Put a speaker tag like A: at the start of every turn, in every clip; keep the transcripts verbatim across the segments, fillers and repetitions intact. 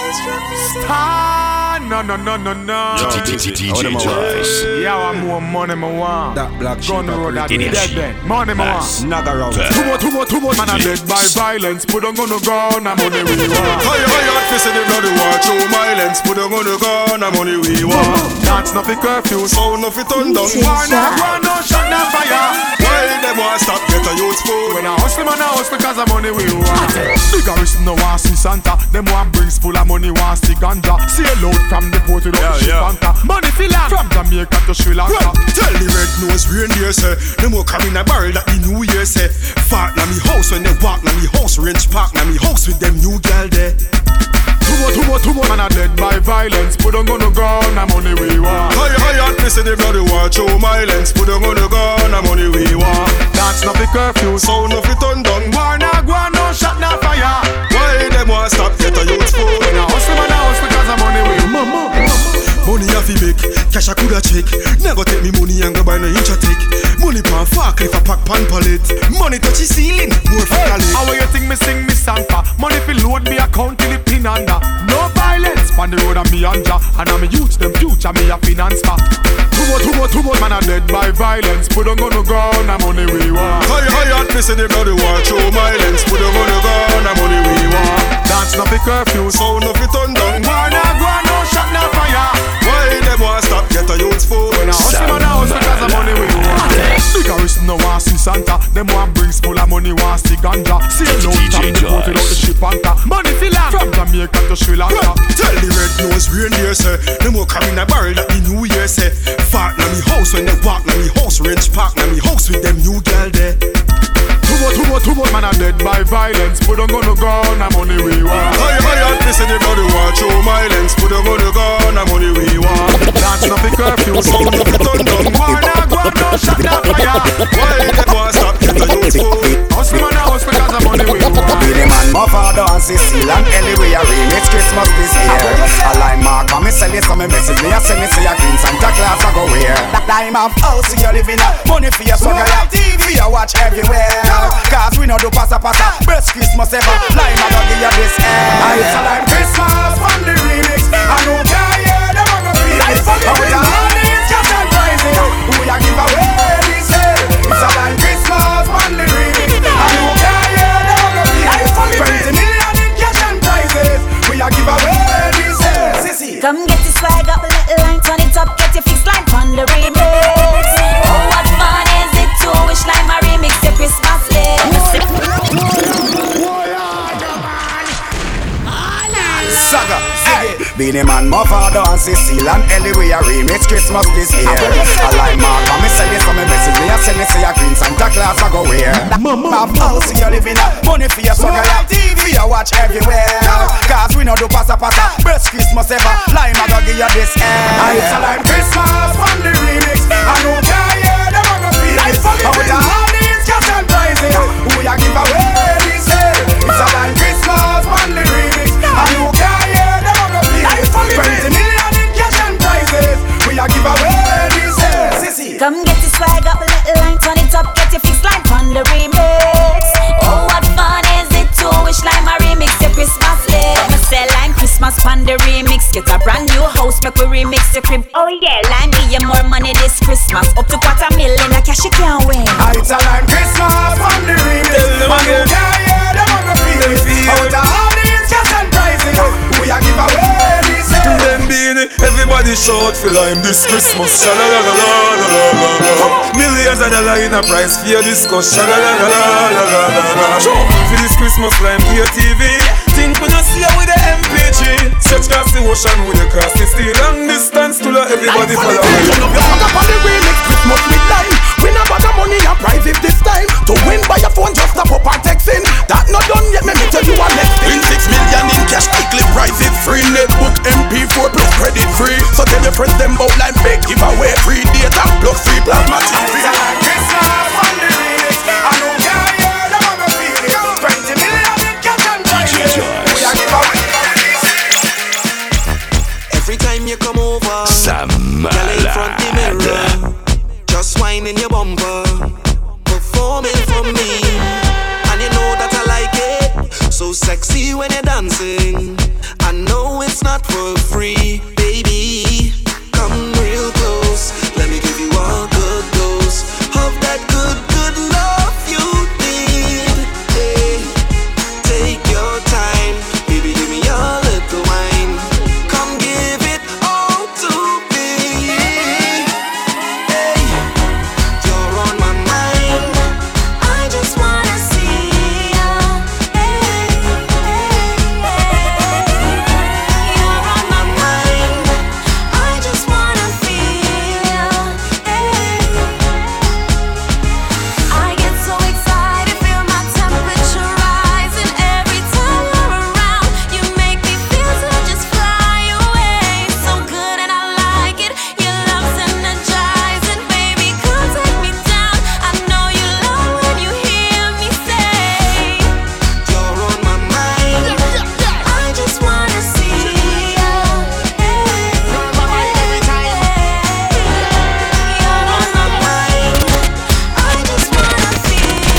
A: Star, no, no, no, no, no.
B: D J Joyce.
A: Yeah, I more money, I want.
C: That black sheep.
A: Gun road, that dead then. Money, I want.
C: Snag around.
A: Too much, too much, too much. Man, I dead by violence. Put on gonna go, and money we want.
D: High, high, hot fist in the bloody war. True violence. Put on gonna go, and money we want.
A: That's not the curfew.
D: Sound of it on down.
A: War, now, war, no shot, no fire.
D: Why them want stop get a youth food?
A: When I hustle, man, I hustle because of money we want. Big arist no want see Santa. Them want brings full of money, want see ganja. Sail out from the port to the ship anchor. Money fill up from Jamaica to Sri Lanka.
D: Well, tell the red nose reindeer say them will come in a barrel that the New Year say. Fart na me house when they walk na me house. Range park na me house with them new girl there.
A: Too much, too much, too much. Man, I dead by violence. Put on gonna go, na money we want.
D: High, high, hot fist in the bloody war. True violence. Put on gonna go, na money we want.
A: That's not the curfew.
D: Sound of it on down.
A: War, na go, no shot, no fire.
D: Why them want stop get a youth food?
A: When I hustle, man, I hustle because of money we want.
D: Money a fi make, cash a coulda check. Never take me money and go buy no inch a take. Money pan fuck if a pack pan pallet. Money touch the ceiling, more for
A: Hey,
D: calic.
A: how you think me sing me Santa? Money fi load me account till it pin under. No violence, pan the road and me anja. And I'm a youth, them future me a finance for. Too much, too much, too much. Man a dead by violence. Put on gonna go, na money we want.
D: High, high, hot fist in the bloody war. Show violence, put on gonna go, na money we want.
A: That's not the curfew.
D: Sound of it on down.
A: War na go, no shot, no fire.
D: Why them want stop get a youth food?
A: When I hustle, man, I hustle because of money we want. Big arist no want see Santa. Them want brings full of money, want see ganja. Sail out from the port without the ship anchor. Money fill up from Jamaica to Sri Lanka.
D: Well, tell the red nose reindeer say them will come in a barrel that the New Year say. Fart na me house when they walk na me house. Range park na me house with them new girl there.
A: Too much, too much, too much. Man a dead by violence. Put on gonna go, na money we want.
D: High, high, hot fist in the bloody war. Show violence, put on gonna go, na money we want.
A: That's not the curfew.
D: Sound of it on down.
A: War na go, no shot, no fire.
D: Why them want stop get a youth food?
A: Hustle, man, I hustle because of money we want.
C: Be the man, my father and Cecile and Ellie. We are remix Christmas this year. A line mark, and me sell it, so me message me. I send me say a green Santa Claus I go wear. That time of house you living up. Money for your son, you have T V you watch everywhere. Cause we know do passa passa. Best Christmas ever. Lime I go give you this air. It's a lime Christmas from the remix. I don't care, yeah, them a go feel it. How the honey's just and rising. Who ya give away this air? It's a lime Christmas from the remix. I don't care, yeah, them a go feel it. Twenty million in cash and prizes. We a give away this air. Sissy.
E: Come get your swag up, a little line, turn it up, get your fix line on the remix. Oh, what fun is it to wish like my remix your Christmas list.
C: Saga, hey. Be the man, my father and Cecile and Ellie. We a remix Christmas this year. A line mark, and me sell it, so me message me. I send it, say a green Santa Claus I go wear. Mama, house you living up. Money for your son, you have T V you watch everywhere. Cause we know do passa passa. Best Christmas ever. Lime I go give you this air. It's a lime Christmas from the remix. I don't care, yeah, them a go feel it. How the honey's just and rising. Who ya give away this air? It's a lime Christmas from the remix. I don't care, yeah, them a go feel it. Twenty million in cash and prizes. We a give away this air. Sissy.
E: Come get your swag up, a little line, turn it up, get your fix line on the remix. Oh, what fun is it to wish like my remix your Christmas list. Me say Lime Christmas on the remix. Get a brand new house, make we remix your crib. Oh yeah, Lime give you more money this Christmas. Up to quarter million, a cash you can't win.
C: It's a Lime Christmas on the remix. Man, you can't hear them on the feel it. How the honey's just and rising. We a give away this air.
D: Them being it, everybody shout for Lime this Christmas. Sha-la-la-la-la-la-la-la. Millions of dollars in a price for your discuss. Sha-la-la-la-la-la-la-la. For this Christmas Lime to your T V. Think we not see you with the M P three. Search across the ocean with the cross the steel. Long distance to let everybody follow.
F: Turn up your fuck up on the remix Christmas with Lime. We not bother money and private this time. To win by your phone just tap up and text in. That not done yet, me me tell you a next thing. Six million in cash, quickly private free. Netbook M P four plus credit free. So tell your friends them about Lime big giveaway. Free data plus free plasma T V.
C: It's a Lime Christmas on the remix. I don't care, yeah, them a go feel it. Twenty million in cash and prizes. We a give away.
G: Every time you come over,
B: Sam
G: girl in front the mirror, just whining your bumper, performing for me, and you know that I like it. So sexy when you're dancing. I I know it's not for free, baby. Come real close, let me give you all good dose of that good, good love you need. Hey, take your time, baby, give me a little wine. Come give it all to me. Hey, you're on my mind. I just wanna see you. Hey, hey, hey. You're on my mind. I just wanna feel you. Hey. I get so excited, feel my temperature rising every time you're around. You make me feel to just fly away. So good and I like it. Your love's energizing, baby. Come take me down. I know you love when you hear me say, you're on my mind. I just wanna see you. Hey, you're on my mind every time. You're on my mind. I just wanna feel you.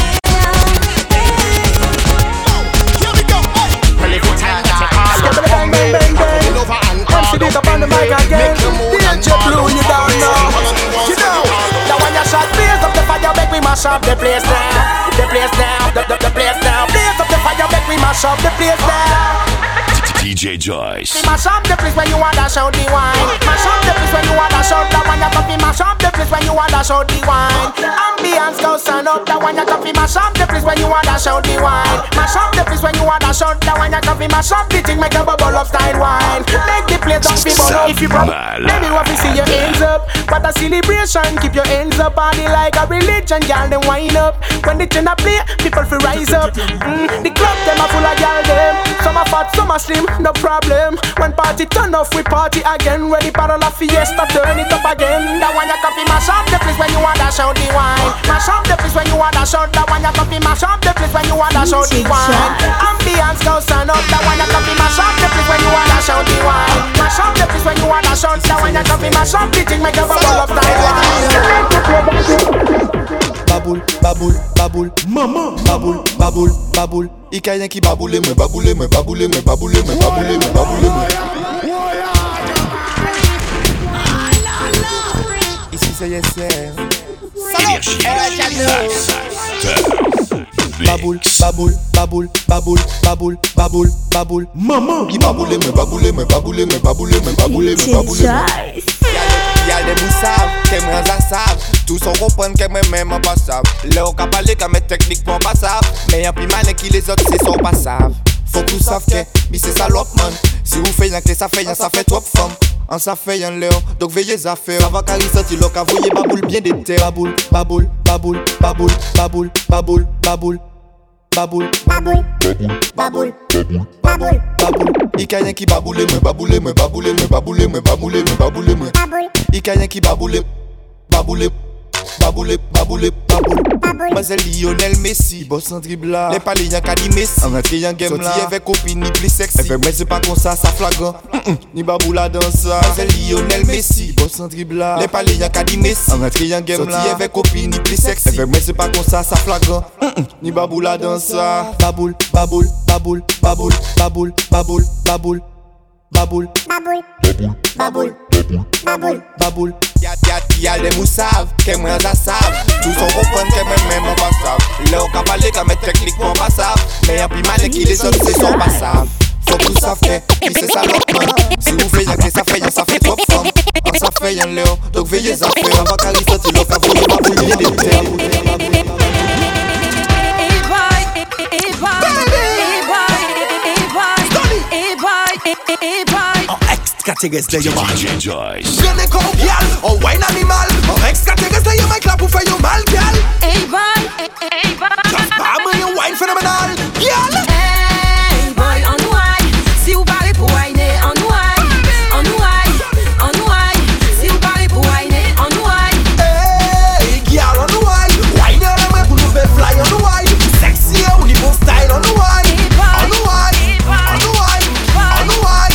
A: Here we go. Well, if you time that you call up,
F: Bang, bang, bang, bang.
A: come over and
F: M
A: call
F: C Dick
A: up.
F: up on the mic again.
A: Make you move
F: D
A: and
F: J
A: call
F: Blue,
A: up.
F: you don't know. You know. Now when you shot blaze up the fire, make me mash up the place now. The place now, the, the, the place now. Blaze up the fire, make me mash up the place now.
B: D J Joyce.
F: Mash up the place when you wanna show the wine. Mash up the place when you wanna show the one you coffee. Mash up the place when you wanna show the wine. Ambiance go stand up, the one you coffee. Mash up the place when you wanna show the wine. Mash up the place when you wanna show the one you coffee. Mash up the thing, make a bubble of style wine. Make the place don't be bubble. If you broke, baby, want to see your hands up. What a celebration, keep your hands up. Party like a religion, girl, then wind up. When the tune a play, people feel rise up. Mm, the club them are full of girl them. Some are fat, some are slim, no problem. When party turn off, we party again. Ready for the fiesta, turn it up again. That one you coffee, mash up the place when you wanna show the wine. Mash up the place when you wanna show the one you coffee. Mash up the place when you wanna show the wine. Ambiance go stand up, that one you coffee. Mash up the place when you wanna show the wine. Mash up the place when you wanna show the one you coffee. Mash up the thing, make a bubble of style wine.
H: Baboule, baboule, baboule, maman, baboule, baboule, baboule. I ka yon ki baboule mwen, baboule mwen, baboule mwen, baboule mwen, baboule mwen, baboule mwen. Ici c'est yes sir.
B: Énergie.
H: Baboule, baboule, baboule, baboule, baboule, baboule, baboule. Maman, ki baboule mwen, baboule mwen, baboule mwen, baboule mwen, baboule mwen, baboule mwen. Y'a des mous savent, qu'est moi ça savent. Tous on comprend que moi même en passable. Là on ka parler comme mes techniques pour pas savent. Mais y'a plus malin qui les autres c'est son pas savent. Faut que vous savent que, mais c'est salope man. Si vous faites y'en que ça fait y'en ça fait trop femme. En ça fait y'en léon, donc veillez à faire. Ça va carrer sorti l'eau qu'à voyer baboule bien d'été. Baboule, baboule, baboule, baboule, baboule, baboule, baboule. Baboule, baboule, baboule, baboule, baboule, baboule. I ka yon ki baboule mwen, baboule mwen, baboule mwen, baboule mwen, baboule mwen, baboule mwen. I ka yon ki baboule, baboule, baboule, baboule, baboule. Moi c'est Lionel Messi, boss en dribble là. Les palais y'en ka di Messi. En rentré y'en game là. Sorti avec copine ni plus sexy. Avec moi c'est pas comme ça, ça flagrant. Ni baboula dans ça. Moi c'est Lionel Messi, boss en dribble là. Les palais y'en ka di Messi. En rentré y'en game là. Sorti avec copine ni plus sexy. Avec moi c'est pas comme ça, ça flagrant. Ni baboula dans ça. Baboule, baboule, baboule, baboule, baboule, baboule, baboule. Baboule, baboule, baboule, baboule, baboule, baboule. Y'a y'a y'a des moussaves, que moi ça savent. Tous on comprend que moi même on pas savent. Là on ka parler comme mes techniques pour pas savent. Mais y'a plus malin qui les autres c'est son pas savent. Faut que vous savent que, c'est ça l'autre man. Si vous faites y'en que ça fait y'en ça fait trop femme. En ça fait y'en léon, donc veillez à faire. Avant qu'à l'histoire l'eau qu'à voler baboule bien d'été.
I: Ex-catégories de y'a
B: D J Joyce.
F: Je n'ai qu'un pial, on wine animal. En ex-catégories de y'a ma clap pour faire y'a mal, pial.
E: Hey boy, hey boy.
F: Just pas moi y'a wine phénoménal, pial.
E: Hey boy, on wine. Si vous parlez pour wine, on wine, on wine, on wine. Si vous parlez pour wine, on wine.
F: Hey, girl, on wine. Wine on moi pour nous faire fly, on wine. Sexy au niveau style, on wine. On wine, on wine, on wine.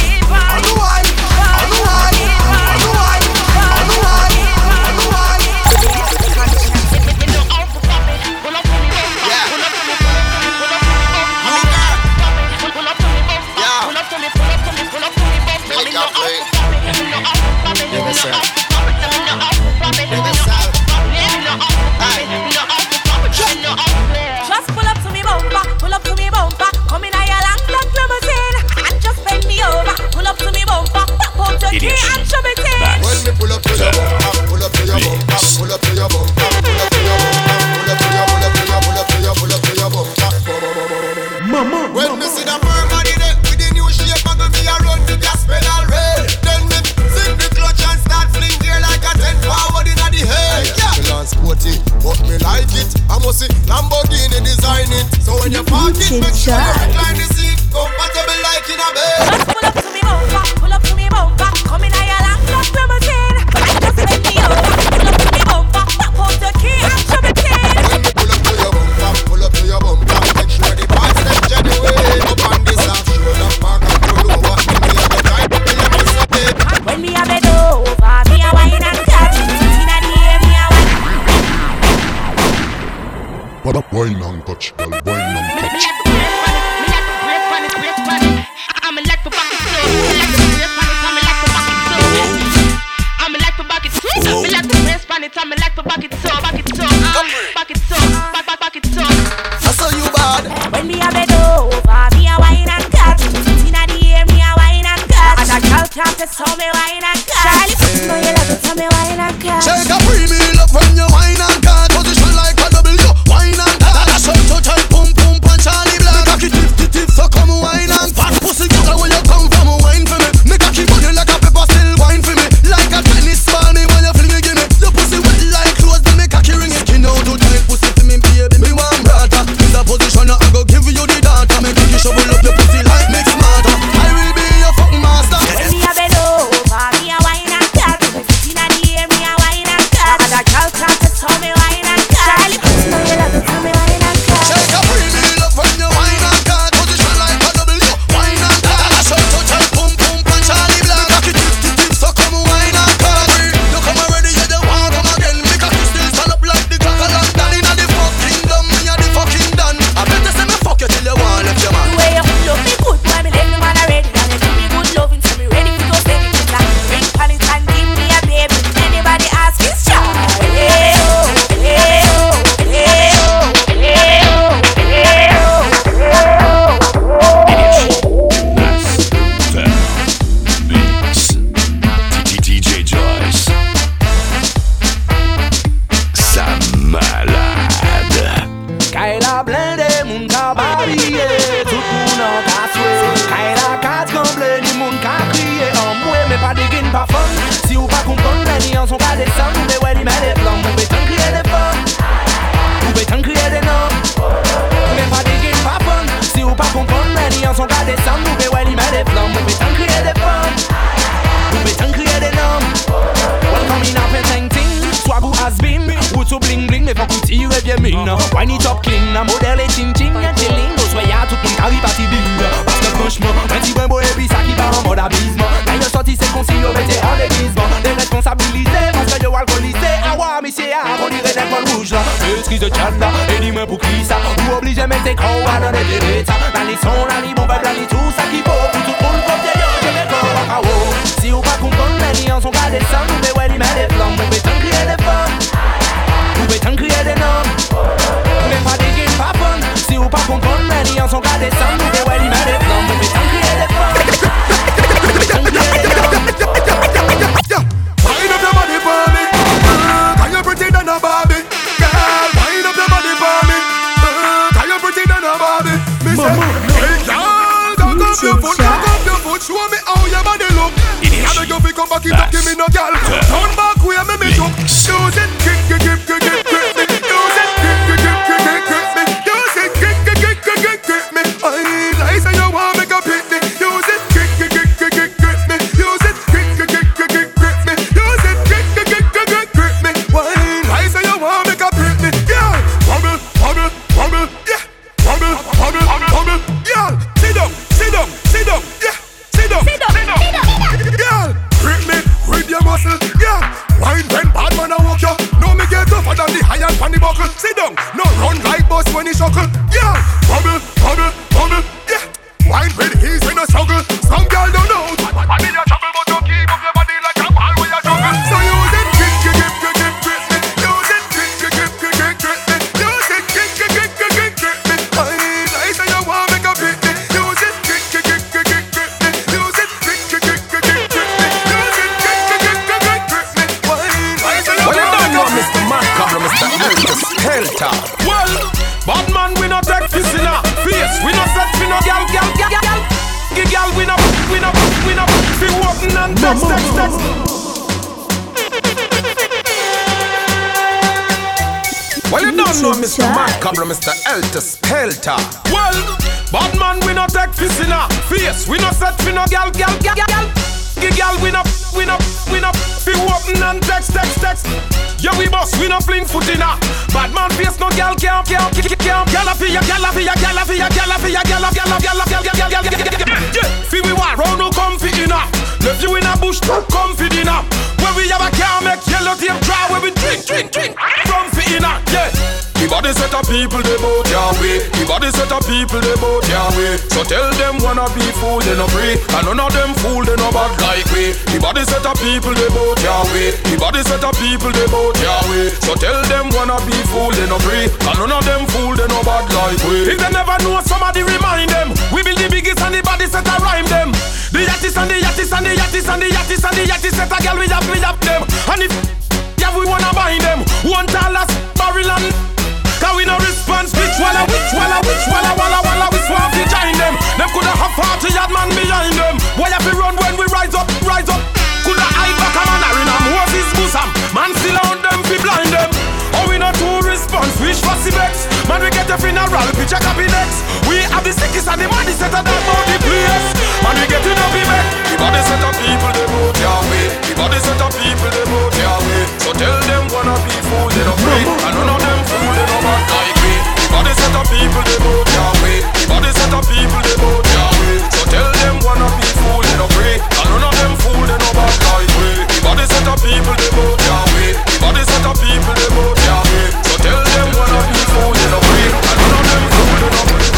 G: You
H: a bed.
E: Just pull up to me bumper, pull up to me bumper. Come in a your long black limousine. Just bend me over, pull up to me bumper. Pop out the key and show me tin.
H: When you pull up to your bumper, pull up to your bumper. Make sure the parts them genuine. Up on this half shoulder, park and pull over. Me a go drive, me a miss a bit.
E: When me a bend over, me a wine and catch. Inna the air, me a wine.
I: What up, wine and touch, girl, wine and touch.
E: When me a bend over, me a wine and catch. Inna the air, me a wine and catch. And a girl can't just tell me wine and catch. Charlie, know you love to tell me wine and catch.
H: Shake a free meal up when you wine and catch. Position like a W, wine and catch. That's how to tell pum pum punch Charlie Black. Make a tip tip tip, so come wine and fat pussy girl where you come from, wine for me. Make a keep on you like a pepper, still wine for me. Like a tennis ball, me when you fling it, give me. Your pussy wet like clothes, then make a key ring it. You know to tell pussy for me, baby, me want brother. In the position I go give you the data. Make you shovel up your pussy like make smarter. I will be your fucking master.
E: When me a bend over, me a wine and catch. Inna the air, me a wine and catch. And a girl can't just tell me wine and catch. Charlie, know you love to tell me wine and catch.
H: Shake a free meal up when you wine and catch. Position like a W, wine and catch. That's how to tell pum pum punch Charlie Black. Make it tip tip tip, so come wine and catch. You come already, you don't want come again. Because you still stand up like the clock of London. Inna the fuck kingdom, me a the fucking done. I better say me fuck you till you want left your man.
E: The way you love me good, boy, me let me man already. And you give me good loving, so me ready to go steady. Like ring pan it and give me a baby. Anybody ask is Charlie. Hey oh, hey oh, hey oh, hey oh, hey oh,
B: D J Joyce. Ça malade.
J: Kaila blende moun ka babye, tout moun an ka swe. Kaila kat kamble ni moun ka kriye an mwe, me pa digin pa fon. Si ou pa kompon, leni an son ka desan, me wè li mè de plan, mou be tan kriye de fon. Mou be tan kriye de nan. Me pa digin pa fon. Si ou pa kompon, leni an son ka desan, mou be wè li mè de plan, mou be tan kriye de fon. Mou be tan kriye de nan. Welcome in a pen ting, swag ou has been. Ou to bling bling, me fok ou tire bien min. Wine it up clean, modèle et ching ching, y'a chilling. Au soya tout moun kari pati bing. Parce que franchement, un petit bon boy et puis ça qui va en mode abysme. Quand y'a sorti c'est concis, y'a mettez en déguisement. Des responsabilités, parce que y'a alcoolisé. Ah ouais, monsieur, on dirait des poils rouges là. Excuse de chat là, et dis-moi pour qui ça. Ou obligé mettre tes crocs à donner des bêtes. Dans les sons, là, les bons peuple, là, les tout ça qui vaut. Pour tout le monde, comme des yeux, j'ai mes corps à kawou. Si ou pas comprendre, les liens sont pas des sangs. Mais ouais, ils mettent des flammes, on peut t'en crier des femmes. Ou peut t'en crier des noms. Mais pas des gains, pas fun. Si ou pas comprendre, les liens sont pas des sangs. Mais ouais, ils mettent des flammes, on peut t'en crier des femmes. On peut t'en crier des noms.
A: Wind up your body for me, uh, can you pretty than a Barbie? Girl, wind up your body for me, uh, can you pretty than a Barbie? Me say, hey girl, cock up your foot, cock up your foot, show me how your body look. I beg you fi come back it up, give me no girl. Turn back way, me me jump. Use it, grip, grip, grip, grip, grip, grip me. Use it, grip, grip, grip, grip, grip, grip me. Use it, grip, grip, grip, grip, grip, grip me. I need lies and you want make a pit me. Use it, grip, grip, grip, grip, grip, grip me. Use it, grip, grip, grip, grip, grip, grip me. Use it, grip, grip, grip, grip, grip, grip me. Why lies and you want make a pit me? Yeah, wobble, wobble, wobble, yeah, wobble, wobble, wobble, yeah. Sit down, sit down, sit down, yeah. Sit down, sit down, sit down, girl. Grip me with your muscle, yeah. Wine when bad man a walk you. No me get tougher than the iron pan the buckle. Sit down, no run like boss when he shuckle, yeah. Bubble, bubble, bubble, yeah. Wine with ease when no struggle. Some girl don't know. Body a trouble but you keep up your body like a ball when you juggle. So use it, grip, grip, grip, grip, grip, grip me. Use it, grip, grip, grip, grip, grip, grip me. Use it, grip, grip, grip, grip, grip, grip me. I need lies and you want make a pit me. Use it, grip, grip, grip, grip, grip, grip me. Use it, grip, grip, grip, grip, grip, grip me. Use it, grip, grip, grip, grip, grip, grip me. Why lies and you want make a pit me.
F: Mister Macabre, Mister Lucas Helter.
D: Well, bad man we no take this in a face. We no set we no gal gal gal gal. Give gal we no we no we no fi walking and text text text.
A: Well, you don't know Mister Macabre, Mister Elter Spelter. Well, bad man, we not take fish in our face. We not set for no gal, gal, gal, gal. Gal, we not, we not, we not. Fi open and text, text, text. Yeah, we boss, we not fling foot in her. Bad man face no gal, can't, can't, can't, can't. Gal a fi ya, gal a fi ya, gal a fi ya, gal a fi ya, gal a, gal a, gal a, gal a, gal a, gal a, gal a. Yeah, fi we war round no comfy in her. Left you in a bush, comfy in her. Where we have a car make yellow tape dry. Where we drink, drink, drink, comfy in her. Yeah. The body set of people they both Yahweh. The body set of people they both Yahweh. So tell them wanna be fool they no pray. And none of them fool they no bad like we. The body set of people they both Yahweh. The body set of people they both Yahweh. So tell them wanna be fool they no pray. And none of them fool they no bad like we. If they never know somebody remind them. We build the biggest and the body set a rhyme them. The yattis and the yattis and the yattis and the yattis and the yattis set a girl we have we have them. And if yeah we wanna buy them. One tallest barrel and cause we no response, which walla, which walla, which walla, walla, walla, we swap to join them. Them coulda have forty yard man behind them. Why have we run when we rise up, rise up? Coulda hide back a man in a Moses bosom. Man still on them, fi blind them. Oh, we not two response, wish for Cibex. Man, we get a funeral, picture copy next. We have the sickest and the money set of that body place. Man, we get enough of it. The body set of people, they both Yahweh. The body set of people, they both Yahweh. So tell them wanna be fool, they don't pray. And none of them fool, they don't bad like me. The body set of people, they both Yahweh. The body set of people, they both Yahweh. So tell them wanna be fool, they don't pray. And none of them fool, they don't bad like me. The body set of people, they both Yahweh. The body set of people, they both Yahweh. So tell them wanna be fool, they don't pray. And none of them fool, they don't pray.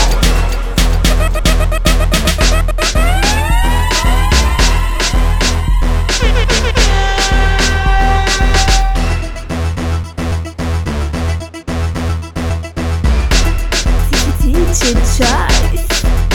K: D J Joyce.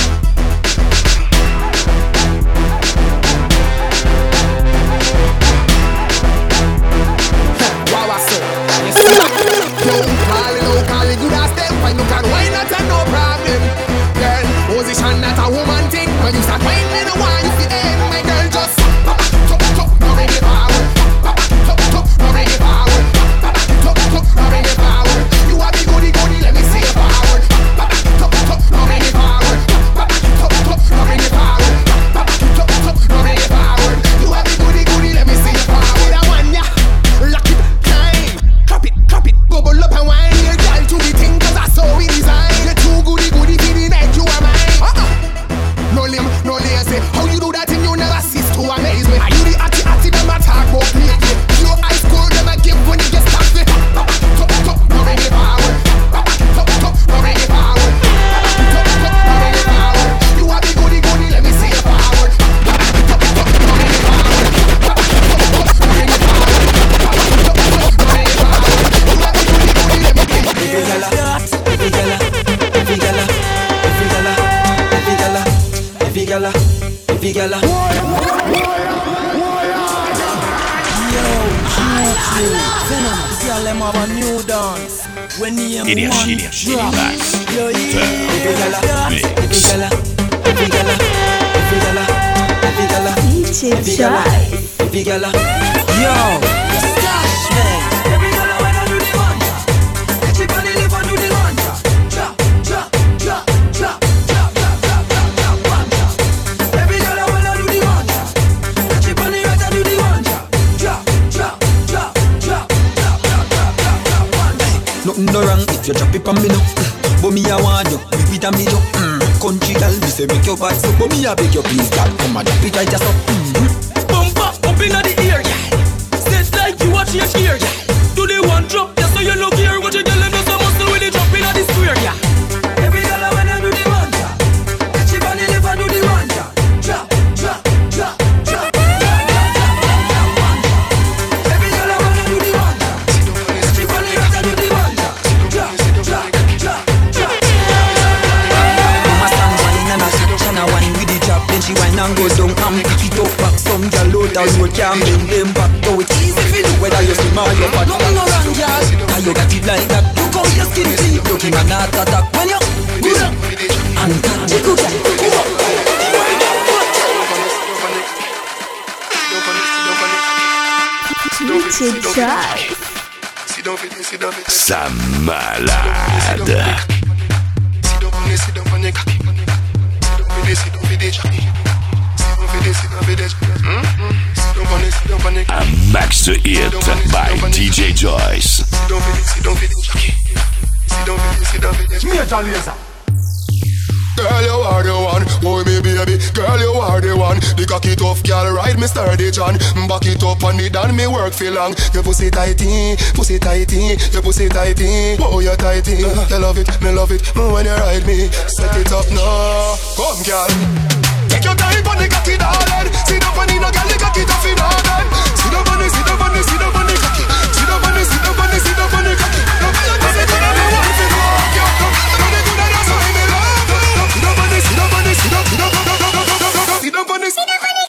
F: Wow, so you see that? Don't call it, don't call it good as them. Why no can why not and no problem? Girl, position not a woman thing. When you start whining, no one you feel end. My girl just pop, top, top, no bring it forward. Pop, top, top, no bring it forward. Pop, top, top, no bring it forward. You are the goody goody, let me see it forward. Pop, top, top, no bring it forward. Pop, top, top, no bring it forward. Pop, top, top, no bring it forward. You are the goody goody, let me see it forward. I want ya, lock it, climb, drop it, drop it, bubble up and wine. Your girl to the thing 'cause I saw we design. You're too goody goody for the night, you are mine. Uh-uh. No limb, no lazy. How you do that and you never cease to amaze me? Are you the atty atty them a talk about me? Your ice cold them a give when you get stuck with. Top, top, no bring it forward. Top, top, no bring it forward. Top, top, no bring it forward. You are the goody goody, let me see it forward. Top, top, no bring it forward. Top, top, no bring it forward. Top, top, no bring it forward. You are the goody goody, let me see it forward.
J: Every gala, every gala, every gala, every gala, every gala, every gala, every gala. Yo, Venom, girl, them have a new dance. When you
B: Energy, energy, relax.
J: every gala, every gala, every gala, every gala, every gala,
K: D J
J: every gala,
K: Joyce.
J: every gala. Yo, stash man. Every gala when I do the manja, catch it on the live and do the manja. Drop, drop, drop, drop, drop, drop, drop, drop, drop, manja. Every gala when I do the manja, catch it on the right and do the manja. Drop, drop, drop, drop, drop, drop, drop, drop, drop, manja. Nothing no wrong if you drop it on me now. But me a want you, big it and me you. Mm. Country girl, me say make your back so. But me a beg you please, girl, come and drop it right just up. Mm. Bumper up inna the ear, yeah. Set like you watch your ear, yeah. Do the one drop, yeah, so you look here. What you tell them is a muscle with the drop inna the square, yeah. Every girl when I do the manja, catch it on the left and do the manja. Drop, drop, drop, drop, drop, drop, drop, drop, manja. Every girl when I do the manja, catch it on the right and do the manja. Drop, drop, drop, drop. Mama stand wine and a catch and a wine with the drop. Then she wine and go down and pick it up back. Some girl out the road can't bring them back. Though it's easy for you whether you swim or you fat. Nothing no wrong, girl. Cause you got it like that. Look how your skin clean. Looking at that attack when you good up and catch it good up.
K: D J Joyce.
B: Ça malade. A max hit by D J Joyce.
A: Major Lazer.
H: Girl, you are the one, boy, me baby. Girl, you are the one. The cocky tough girl, ride me sturdy John. Back it up on me, done me work for long. Your pussy tighty, pussy tighty, your pussy tighty. Oh, you tighty. You love it, me love it. When you ride me, set it up now. Come, girl. Take your time on the cocky, darling. Sit up on the no girl, the cocky tough in order. Sit up on the, sit up on the, sit up on the cocky. Sit up on the, sit up on the, sit up on the cocky. No, you pussy good and me want to fuck you. No, you good and that's why me love. Sit up on this, sit up on this, sit up, sit up, sit up, sit up, sit up on this.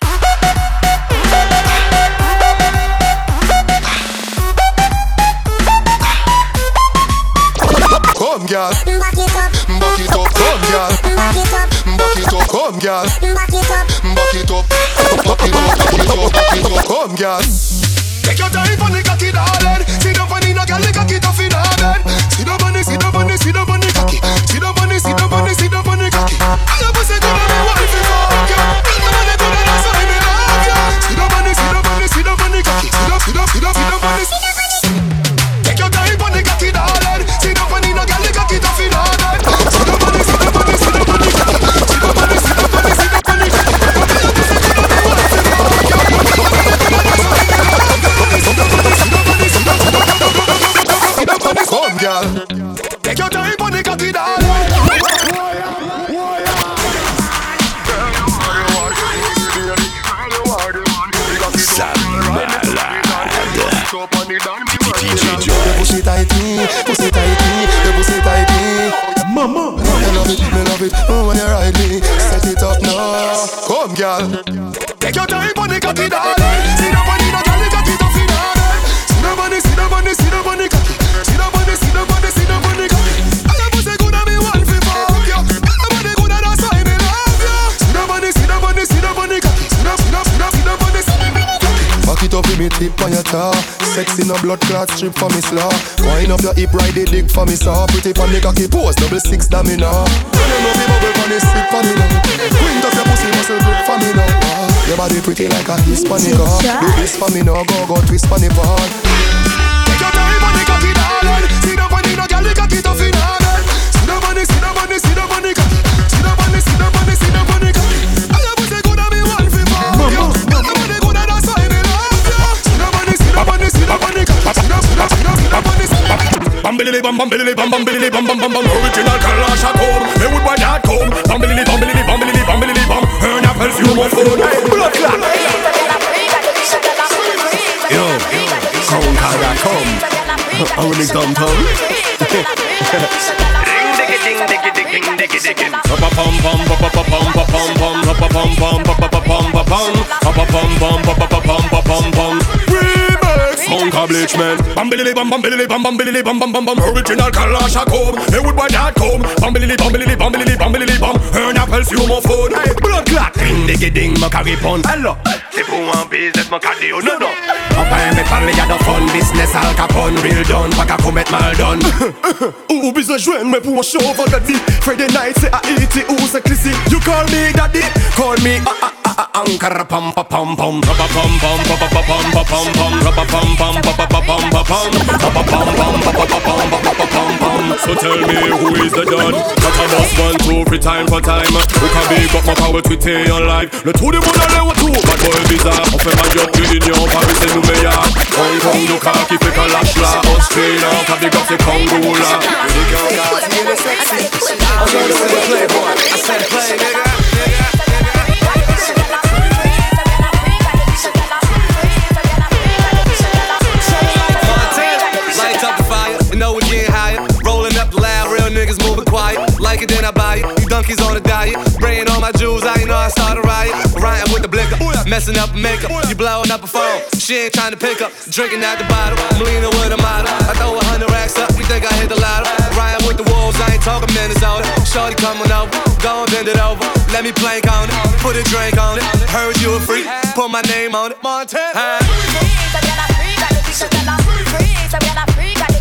H: Come, girl. Back it up. Back it up. Come, girl. Back it up. Back it up. Come, girl. Back it up. Back it up. Back it up. Back it up. Back it up. Come, girl. Take your time on the cocky, darling. Sit up on the no girl, the cocky tough in order. Sit up on the, sit up on the, sit up on the cocky. Sit up on the, sit up on the, sit up on the cocky. I love pussy good and me want to fuck you. Tell me when they good and that's why me love you. Sit up on the, sit up on the, sit up on the cocky. Sit up, sit up, sit up, sit up on the. Take your time on the cocky, darling. Sit up on the no girl, the cocky tough in order. Sit up on the, sit up on the, sit up on the cocky. Sit up on the, sit up on the, sit up on the cocky. I love pussy good and me want to fuck you. Come, girl. Take your time on the cocky, darling.
B: Ça malade. D J Joyce.
H: Your pussy tighty, pussy tighty, your pussy tighty. Mama, me love it, me love it. Oh, when you ride me, set it up now. Come, girl. Take your time on the cocky, darling. Sit up on the no girl, the cocky tough in order. Sit up on the, sit up on the, sit up on the cocky. Sit up on the, sit up on the, sit up on the cocky. I love pussy good and me want to fuck you. I love the good and that's why me love you. Sit up on the, sit up on the, sit up on the cocky. Sit up, sit up, sit up, sit up on the cocky. Back it up with me tip on your jaw. Sexy no blood clot strip for me slaw. Wind up your hip, ride the dick for me saw. Pretty pon the cocky pose, double six damn me now. When you know me bubble pon the stick for me now. Wind up your pussy muscle grip for me now. Your body pretty like a Hispanic. Do this for me now, go go twist for me ball. Take your time on the cocky, darling. Sit up on the no girl, the cocky tough in order. Sit up on the, sit up on the, sit up on the cocky. Sit up on the, sit up on the, sit up on the cocky. I love pussy good and me want to fuck you. I love the good and that's why me love you. Sit up on the, sit up on the, sit up on the cocky. Sit up, sit up, sit up, sit up on the cocky. Bambilili bam, bambilili bam, bambilili bam, bam, bam, bam. Original Kalash at home. They would buy that comb. Bambilili, bambilili, bambilili, bambilili bam. Earn apples, you must phone. Blood clot. Yo, come, Kara, come. I will lick dumb tongue. Monka Bleachman. Bambilili bam bambilili bam bambilili bam bam bam bam. Original Kalash at home. They would buy that comb. Bambilili bambilili bambilili bambilili bam. Earn apples, you must phone. Blood clot. Ding diggy ding, ma carry pon. Alors, c'est pour un business, ma carry oh non non. Papa me parle y'a de fun business Al Capone real done, pas qu'à commettre mal done. Ou besoin joindre mais pour un show vendredi. Friday night c'est à E T ou c'est Clissy. You call me daddy, call me ah ah ah ah Ankara pam pam pam pam pam pam pam pam pam pam pam pam pam pam pam. So tell me who is the don? Not a boss one two free time for time. Who can big up my power to stay on live? Le tout de monde à l'air tout. Bad boy bizarre. On fait ma job d'union. Paris c'est nous meilleur. Hong Kong du car qui fait qu'un lâche là. Australia, t'as big up c'est Congo là. I'm gonna say playboy. I said play nigga. Like it, then I buy it. You donkeys on a diet. Spraying all my jewels, I know I start a riot. Rioting with the blicker, messing up makeup. You blowing up a phone, she ain't trying to pick up. Drinking out the bottle, I'm leaning with a model. I throw a hundred racks up, you think I hit the lotto. Rioting with the wolves, I ain't talking Minnesota. Shorty coming over, go and bend it over. Let me plank on it, put a drink on it. Heard you a freak, put my name on it. Montana.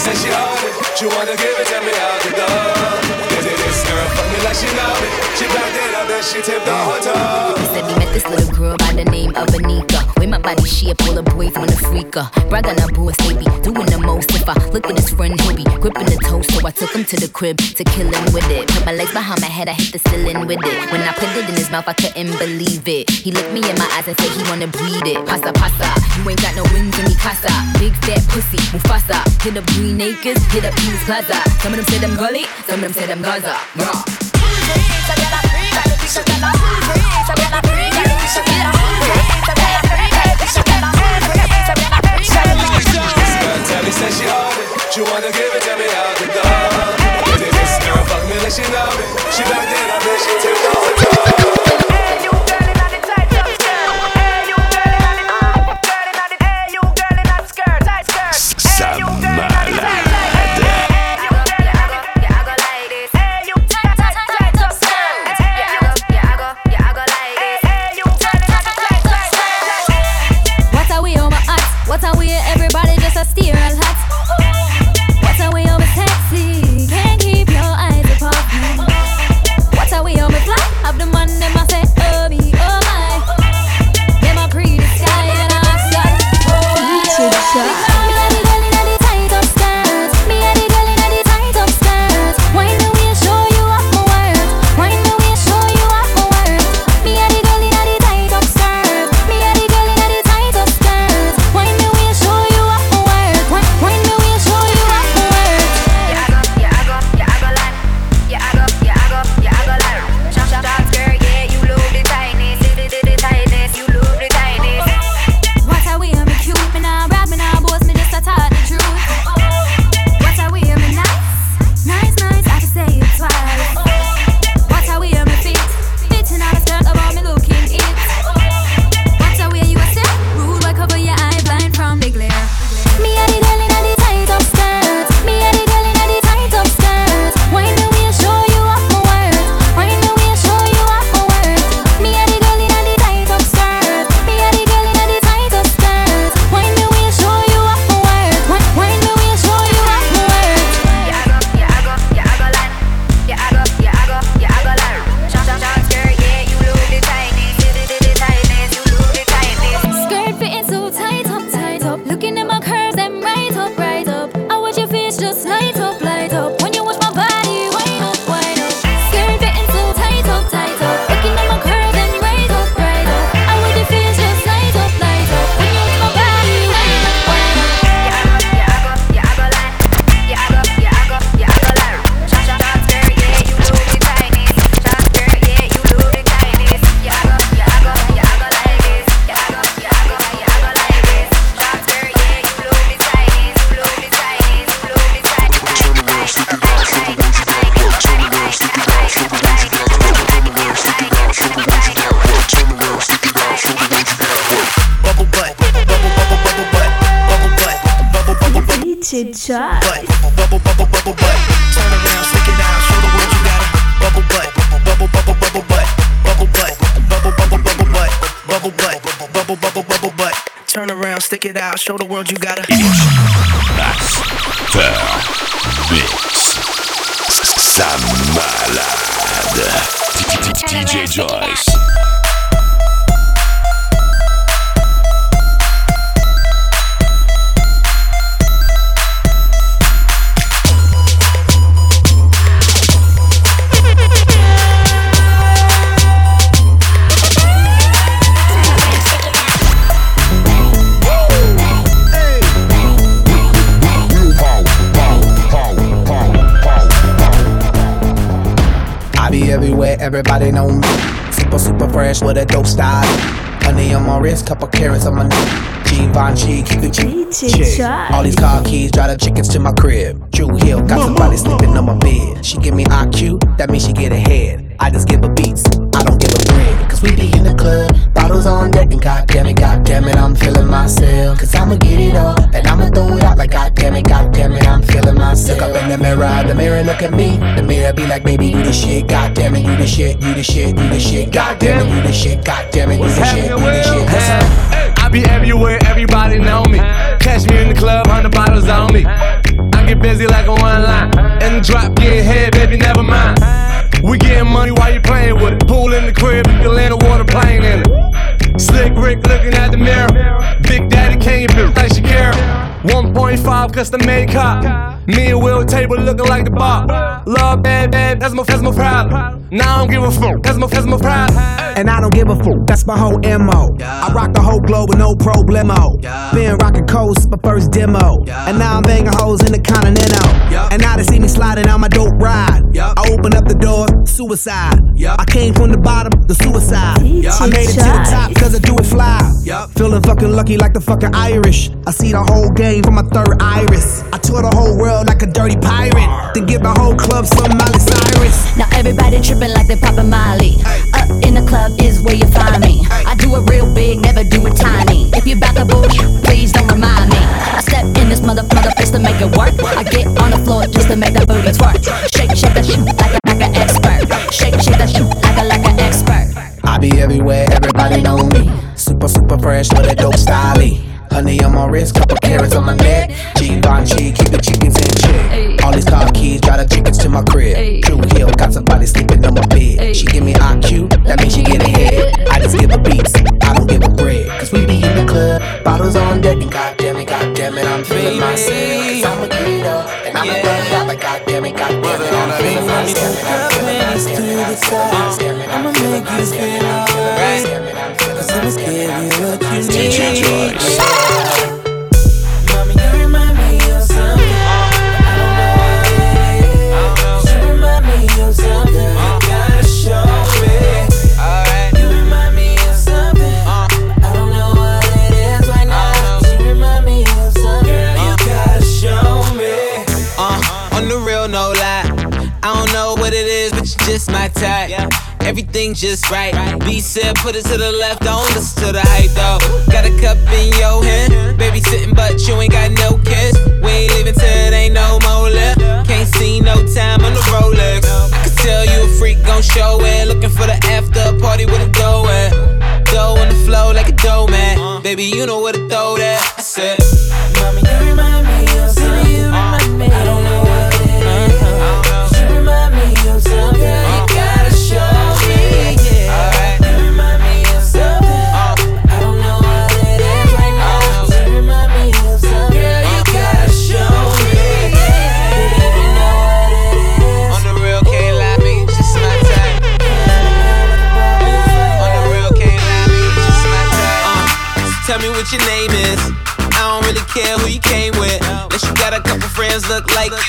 L: said she on it. She wanna give it to me out the door. This girl fuck me like she know me. She backed it up, then she tipped the whole toe.
M: He said he met this little girl by the name of Anika. With my body shape, all the boys wanna freak her. Brag on her boss, they be doing the most. If I look at his friend, he'll be gripping the toast. So I took him to the crib to kill him with it. Put my legs behind my head, I hit the ceiling with it. When I put it in his mouth, I couldn't believe it. He looked me in my eyes and said he wanna breed it. Pasa, pasa, you ain't got no wings in me casa. Big fat pussy, Mufasa. Hit up Green Acres, hit up Peace Plaza. Some of them say them gully, some of them say them Gaza. Raw.
L: Tell me, say she on it. She wanna give it to me out the door. This girl fuck me like she know me. She back then, I bet she took the whole toe.
K: Joyce.
J: Bubble, bubble, bubble butt. Turn around, stick it out, show the world you got it. Bubble butt, bubble, bubble, bubble butt. Bubble butt, bubble, bubble, bubble butt. Bubble butt, bubble, bubble, bubble butt. Turn around, stick it out, show the world you got it.
B: Master Mix. Ça malade. D J Joyce.
F: Everywhere, everybody know me. Super, super fresh with a dope style. Honey on my wrist, couple carrots on my neck. Givenchy, keep it cheap. All these car keys, drive the chickens to my crib. Drew Hill, got somebody sleeping on my bed. She give me I Q, that means she get ahead. I just give her beats, I don't give her bread. Cause we be in the club, bottles on deck, and goddamn it, goddamn it, I'm feeling myself. Cause I'ma get it up, and I'ma throw it out like goddamn it, goddamn it, I'm feeling myself. Look up in the mirror, the mirror look at me. The mirror be like, baby, you the shit, goddamn it, you the shit, you the shit, you the shit, goddamn it, you the shit, goddamn it, you the shit, you the shit. What's up?
J: I be everywhere, everybody know me. Catch me in the club, hundred bottles on me. I I get busy like a one line. And the drop get head, baby, never mind. We getting money while you playing with it. Pool in the crib, you can land a water plane in it. Slick Rick looking at the mirror. Big Daddy Kane, bitch like Shakira. one point five custom made cop. Me and Will table looking like the bar. Love bad, bad, that's my, that's my problem. Now I don't give a fuck, that's my, that's my problem.
N: And I don't give a fuck, that's my whole M O. I rock the whole globe with no problemo. Been rocking coast, my first demo. And now I'm banging hoes in the Continental. And now they see me sliding on my dope ride. I open up the door, suicide. I came from the bottom, the suicide. I made it to the top cause I do it fly. Feeling fucking lucky like the fucking Irish. I see the whole game from my third iris. I tour the whole world like a dirty pirate. Then give my whole club some Miley Cyrus.
M: Now everybody tripping like they poppin' Molly. Up in the club is where you find me. I do it real big, never do it tiny. If you bout the bullshit, please don't remind me. I step in this mother mother place to make it work. I get on the floor just to make that booty twerk. Shake, shake that shit like a, like an expert. Shake, shake that shit like a, like an expert.
N: I be everywhere, everybody know me. Super, super fresh with a dope style. Honey on my wrist, couple carrots on my neck. Givenchy, keep the chickens in check. All these car keys, drive the chickens to my crib. True Hill, got somebody sleeping on my bed. She give me I Q, that means she get ahead. I just give her beats, I don't give her bread. Cause we be in the club, bottles on deck. And goddamn it, goddamn it, I'm feeling myself. Cause I'm a kiddo, and I'm a bad guy. But goddamn it, goddamn it, I'm feeling myself. I'ma make you feel alright. Cause I'ma give you what you need.
B: D J Joyce.
O: Mommy, you remind me of something. I don't know what it is. You remind me of something. You gotta show me. You remind me of something. I don't know what it is right now. You remind me of something. You gotta show me.
P: Uh, on the real, no lie. I don't know what it is, but you just my type. Everything just right. B said put it to the left, don't listen to the hype though. Got a cup in your hand, baby sitting but you ain't got no kiss. We ain't leaving till it ain't no more left. Can't see no time on the Rolex. I can tell you a freak gon' show it. Looking for the after party with a dough at. Dough on the flow like a dough man. Baby you know where to throw that. I said,
O: Mommy you remind me of something. You remind me. I don't know what it is. You remind me of something. You gotta show.
P: Tell me what your name is. I don't really care who you came with. Unless you got a couple friends look like you.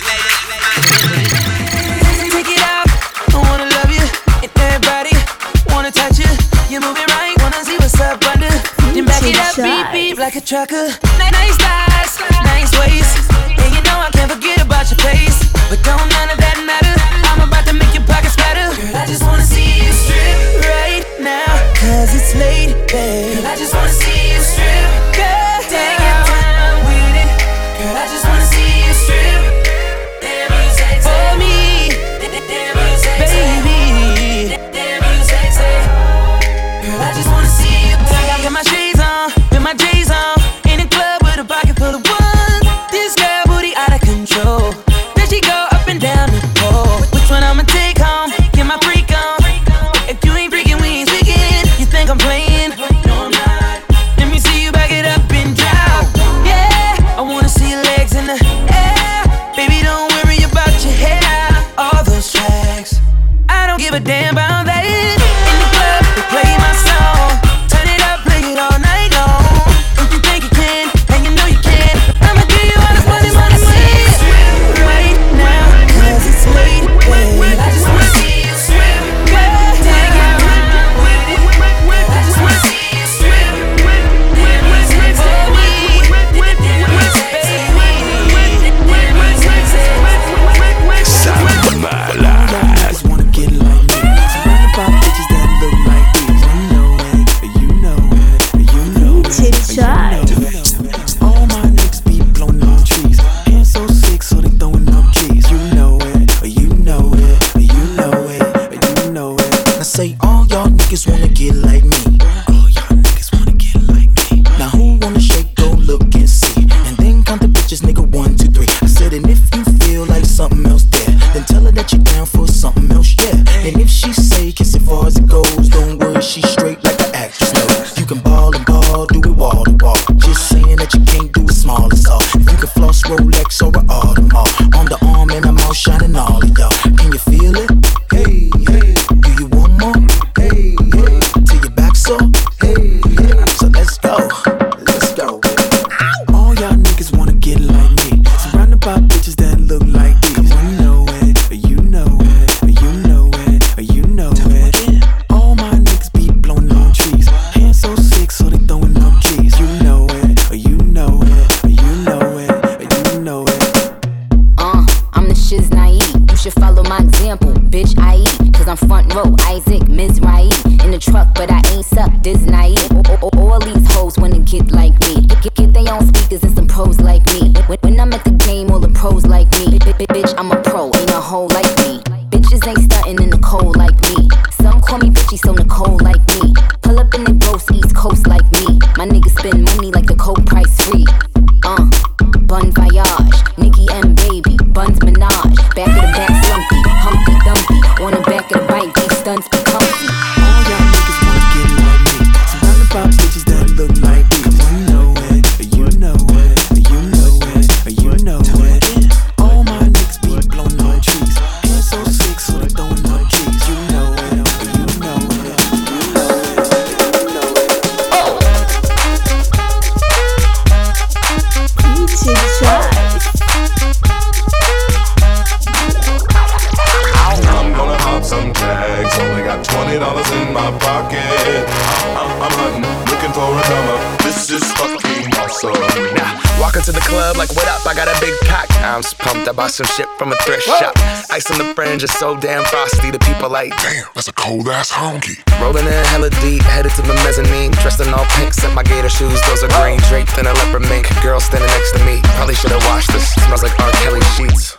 O: Take it out, I wanna love you. And everybody wanna touch you. You move it right, wanna see what's up under. Then back it up, beep beep like a trucker. Nice thighs, nice waist. And you know I can't forget about your face. But don't none of that matter. I'm about to make your pockets fatter. Girl, I just wanna see you strip right now. Cause it's late, babe. Girl, I just wanna see you strip. Girl, take your time with it. Girl, I just wanna see you strip. Damn, you sexy. For me. Damn, you sexy. Baby. Damn, you sexy. Girl, I just wanna see you. I got my shades on, with my J's on. In the club with a pocket full of ones. This girl booty out of control. Then she go up and down the pole. Which one I'ma take home? Get my freak on. If you ain't freaking, we ain't speaking. You think I'm playing? No, I'm not. Let me see you back it up and drop. Yeah, I wanna see your legs in the air. Baby, don't worry about your hair. All those tracks, I don't give a damn about that. In the club, they play my song. Turn it up, play it all night long. If you think you can, and you know you can, I'ma give you all this money, money, money. Right now, cause it's late, babe. I just wanna see you swim. Girl, take your time with it. I just wanna see you swim. Damn, you sexy. For me. Damn, you sexy. Damn, you sexy.
B: Sound Malade.
H: Niggas wanna get like me. Surrounded by bitches that look like these. You know it, you know it, you know it, you know it. All my niggas be blowing up trees. Hands so sick, so they throwing up keys. You know it, you know it, you know it, you know it. I say all y'all niggas wanna get like me. All y'all niggas wanna get like me. Now who wanna shake, go look and see. And then count the bitches, nigga, one, two, three. I said
M: should follow my example. Bitch, I eat, cause I'm front row. Isaac, Mizrahi. In the truck, but I ain't suck. This naive. All these hoes wanna get like me. Get, get their own speakers and some pros like me. When, when I'm at the game, all the pros like me. Bitch, I'm a pro, ain't a hoe like me. Bitches ain't stuntin' in the cold like me. Some call me bitchy, so Nicole like me. Pull up in the gross East Coast like me. My niggas spend money like the coke price free. Uh, Bon Voyage, Nicki and Baby, Buns Minaj. Back of the back slumpy, Humpty Dumpty. On the back of the bike, these stunts be comfy.
J: All y'all niggas wanna get it on me. Surrounded by bitches that look like me. You know it, you know it, you know it, you know it. All my niggas be blowing on trees. And so sick, so they throwing on trees. You know it, you know it, you know it, you know it. Oh!
K: D J Joyce.
L: I'm gonna hop some tags. Only got twenty dollars in my pocket. I'm, I'm hunting, looking for a come up. This is fucking awesome.
Q: Now, walking to the club like, what up? I got a big cock. I'm just pumped. I bought some shit from a thrift Whoa. shop. Ice on the fringe is so damn frosty. The people like,
I: damn, that's a cold ass honky.
Q: Rolling in hella deep, headed to the mezzanine. Dressed in all pink, set my gator shoes. Those are green, draped in a leopard mink. Girl standing next to me. Probably should've washed this. Smells like R. Kelly sheets.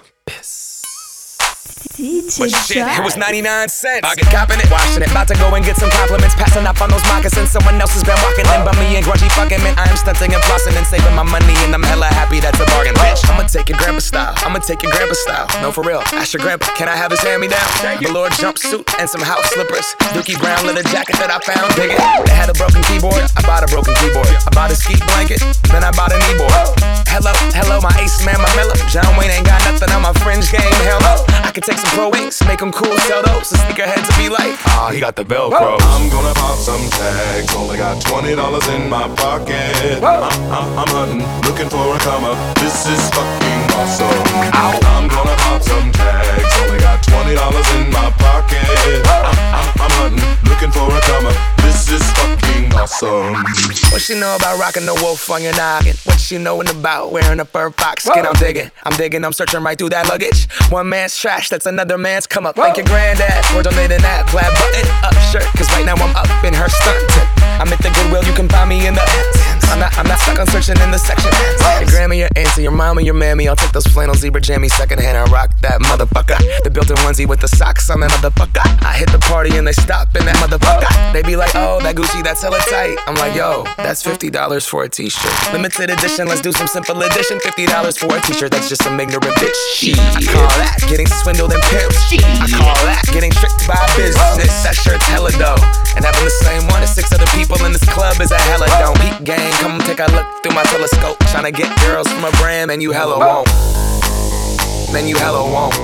K: D J
Q: But shit, it was ninety-nine cents. I get copping it, washing it. About to go and get some compliments. Passing up on those moccasins. Someone else has been walking in by me and grungy fucking man. I am stunting and flossing and saving my money, and I'm hella happy that's a bargain. Bitch, I'ma take your grandpa style. I'ma take your grandpa style. No, for real. Ask your grandpa, can I have his hand me down? Velour jumpsuit and some house slippers. Dookie brown leather jacket that I found. Dig it. They had a broken keyboard. I bought a broken keyboard. I bought a ski blanket. Then I bought a kneeboard. Hello, hello, my ace man, my mellow. John Wayne ain't got nothing on my fringe game. Hello, I can take some pro wings, make them cool, sell those. The sneakerheads will be like, ah, he got the Velcro.
L: I'm gonna pop some tags. Only got twenty dollars in my pocket. I'm, I'm, I'm hunting, looking for a come up. This is fucking awesome. Ow. I'm gonna pop some tags. Only got twenty dollars in my pocket. I'm, I'm, I'm hunting, looking for a come up. This is fucking awesome.
Q: What she know about rocking the wolf on your noggin? What she knowin' about wearing a fur fox skin? I'm digging, I'm digging, I'm searching right through that luggage. One man's trash, that's another man's come up. Thank your granddad for donating that plaid button up shirt. Cause right now I'm up in her skirt. I'm at the Goodwill, you can find me in the I'm not, I'm not stuck on searching in the section. Your grandma, your auntie, your mama, your mammy. I'll take those flannel zebra jammies secondhand and rock that motherfucker. The built-in onesie with the socks on that motherfucker. I hit the party and they stop in that motherfucker. They be like, oh, that Gucci, that's hella tight. I'm like, yo, that's fifty dollars for a t-shirt. Limited edition, let's do some simple edition. fifty dollars for a t-shirt, that's just some ignorant bitch. Shit. I call that getting swindled and pimped. I call that getting tricked by business. That shirt's hella dope. And having the same one as six other people in this club is a hella don't. Peep gang, come take a look through my telescope. Tryna get girls from a brand, man, you hella won't. Man, you hella won't.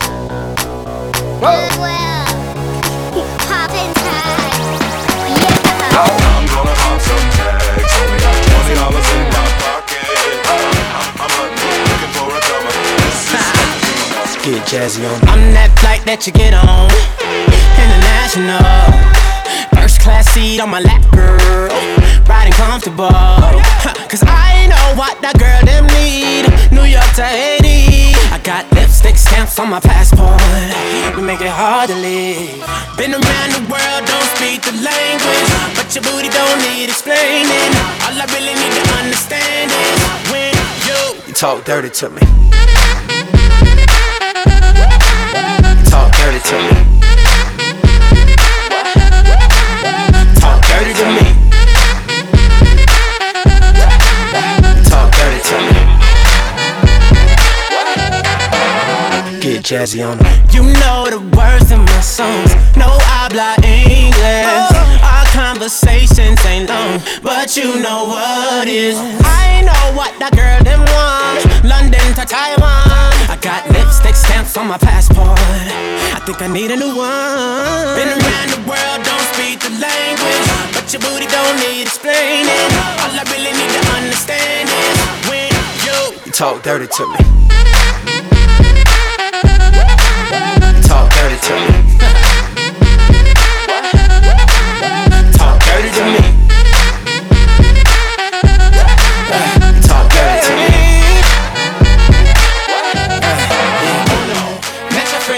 R: Goodwill, poppin' tags, yeah.
L: I'm gonna pop some tags. Only got twenty dollars in my pocket. I'm, I'm hunting, looking for a come up. This is fucking awesome.
J: Get jazzy on.
S: I'm that flight that you get on. International. First class seat on my lap, girl. Riding comfortable. Cause I know what that girl them need. New York to Haiti. I got lipstick stamps on my passport. We make it hard to leave. Been around the world, don't speak the language. But your booty don't need explaining. All I really need to understand is when you,
J: you talk dirty to me. You talk dirty to me. Talk dirty to me. Talk dirty to me. Get jazzy on me.
S: You know the words in my songs. No habla English. Our conversations ain't long, but you know what is. I know what that girl them want. London to Taiwan. I got lipstick stamps on my passport. I think I need a new one. Been around the world, don't speak the language, but your booty don't need explaining. All I really need to understand is when you,
J: you talk dirty to me. Talk dirty to me. Talk dirty to me. Talk dirty to me.
S: met your friend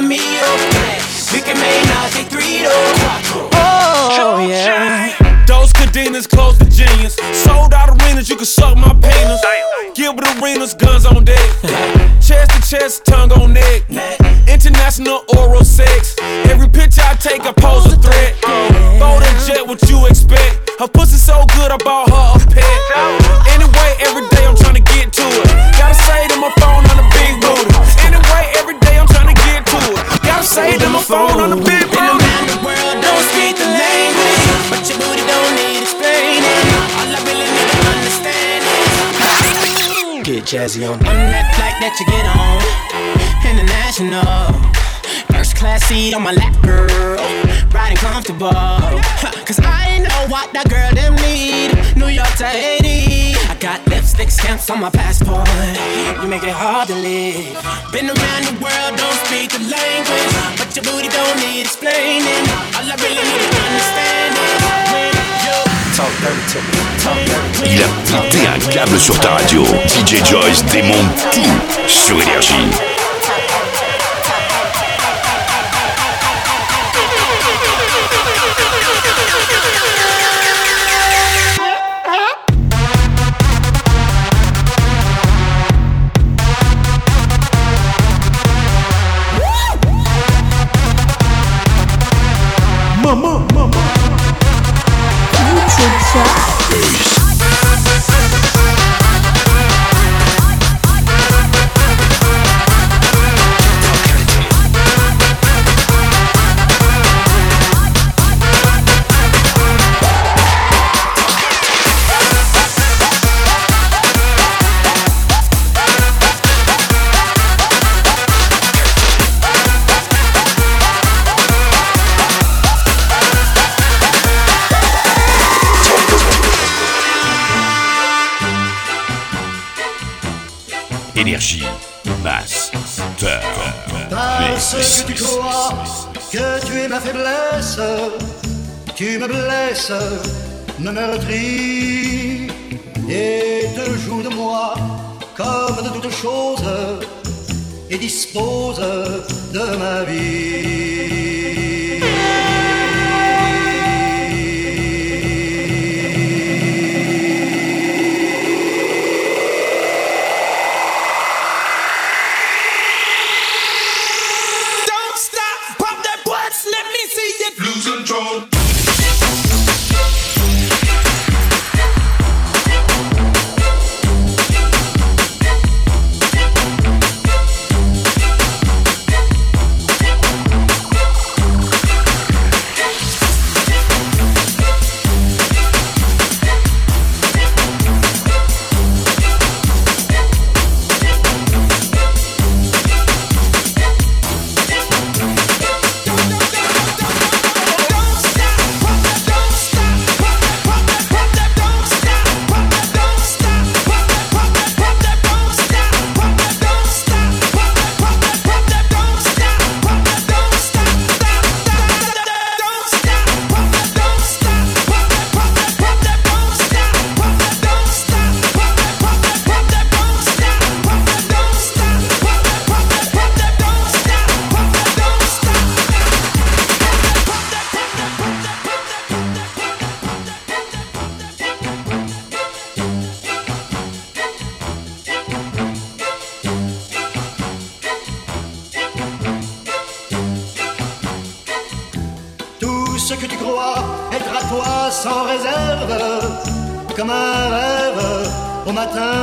S: mio. We can make Nazi three though. Oh yeah.
D: Those cadenas close to genius. Sold out arenas, you can suck my penis. Gilbert Arenas, guns on deck. Chest to chest, tongue on neck. International oral sex. Every picture I take, I pose a threat. Bold and jet, what you expect? Her pussy so good, I bought her a pet. Anyway, every day I'm trying to get to it. Gotta say to my phone on the big booty. Anyway, every day I'm trying to get to it. Gotta say to my phone on the big booty.
S: Been around the world, don't speak the language, but your booty don't need explaining. All I really need to understand is
H: get jazzy on.
S: On that flight that you get on, international, first class seat on my lap, girl, riding comfortable. Cause I know what that girl them need. New York to Haiti, I got lipstick stamps on my passport. You make it hard to live. Been around the world, don't speak the language, but your booty don't need explaining. All I really need to understand is when you
H: talk dirty to me. Talk dirty to me.
B: Il a pété un câble sur ta radio. D J Joyce démonte tout sur Énergie.
N: Mama, mama. D J Joyce.
B: Énergie, Master
T: Parce que tu crois que tu es ma faiblesse, tu me blesses, me meurtris et te joues de moi comme de toutes choses et dispose de ma vie. Ce que tu crois être à toi sans réserve, comme un rêve au matin,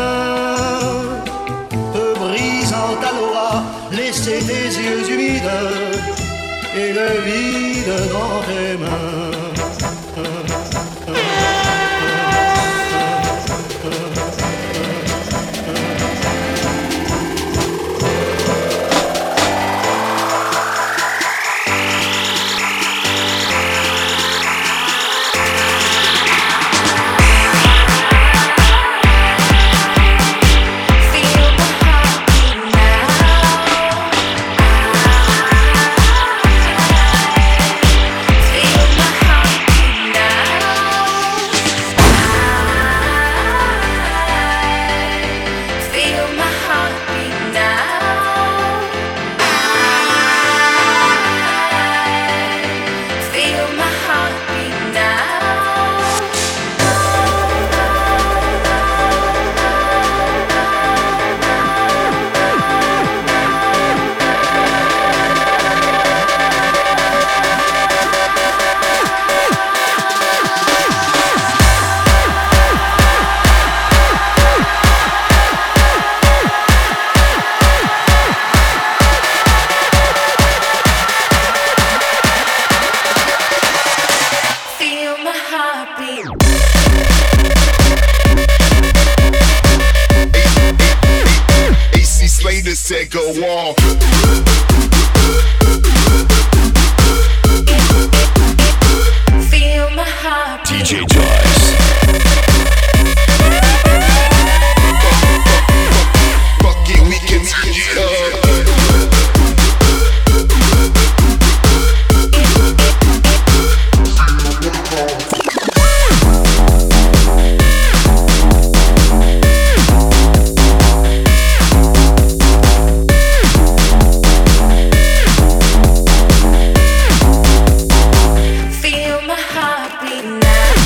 T: peu brisant ta loi, laisser tes yeux humides et le vide dans tes mains.
R: Feel my heart
I: need to take a walk.
O: Feel my heart.
B: D J Joyce.
I: Fuck it, we can turn it up.
O: Feel my heart beating.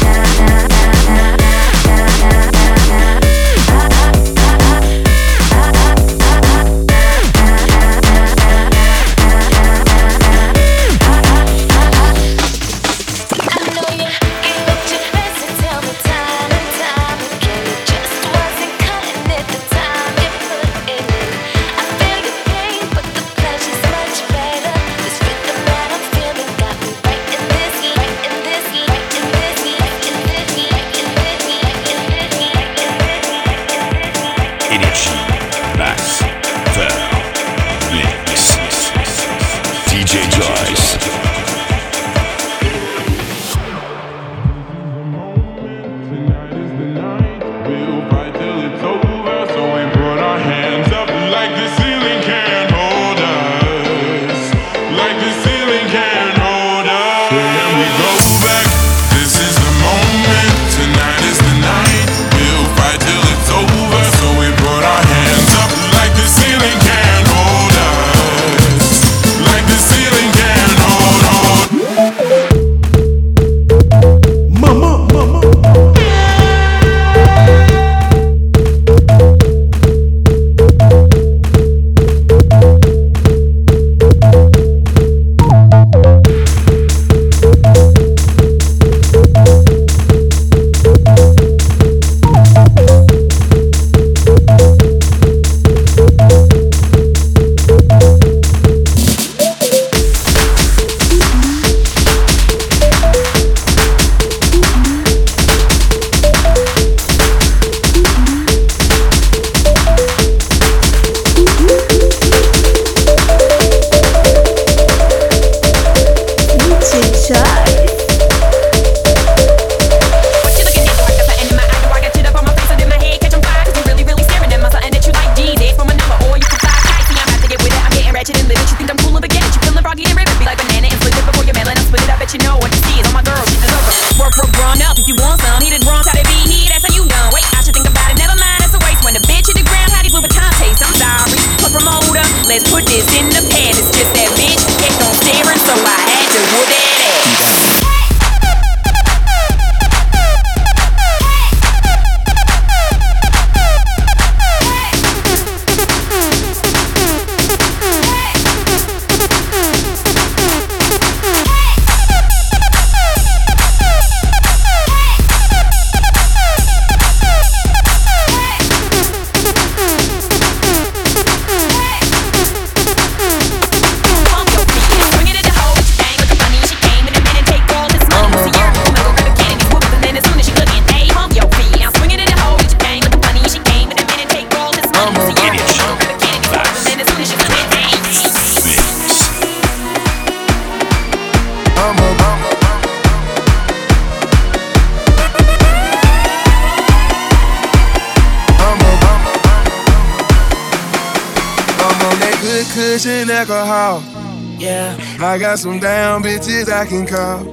D: Cushion alcohol. Yeah, I got some damn bitches I can call.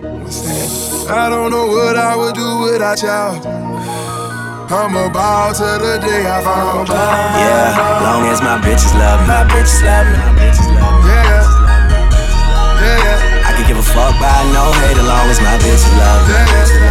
D: I don't know what I would do without y'all. I'm about to the day I found out.
U: Yeah, long as my bitches love me. My bitches love me.
D: Yeah, yeah.
U: I can give a fuck by no hate as long as my bitches love me.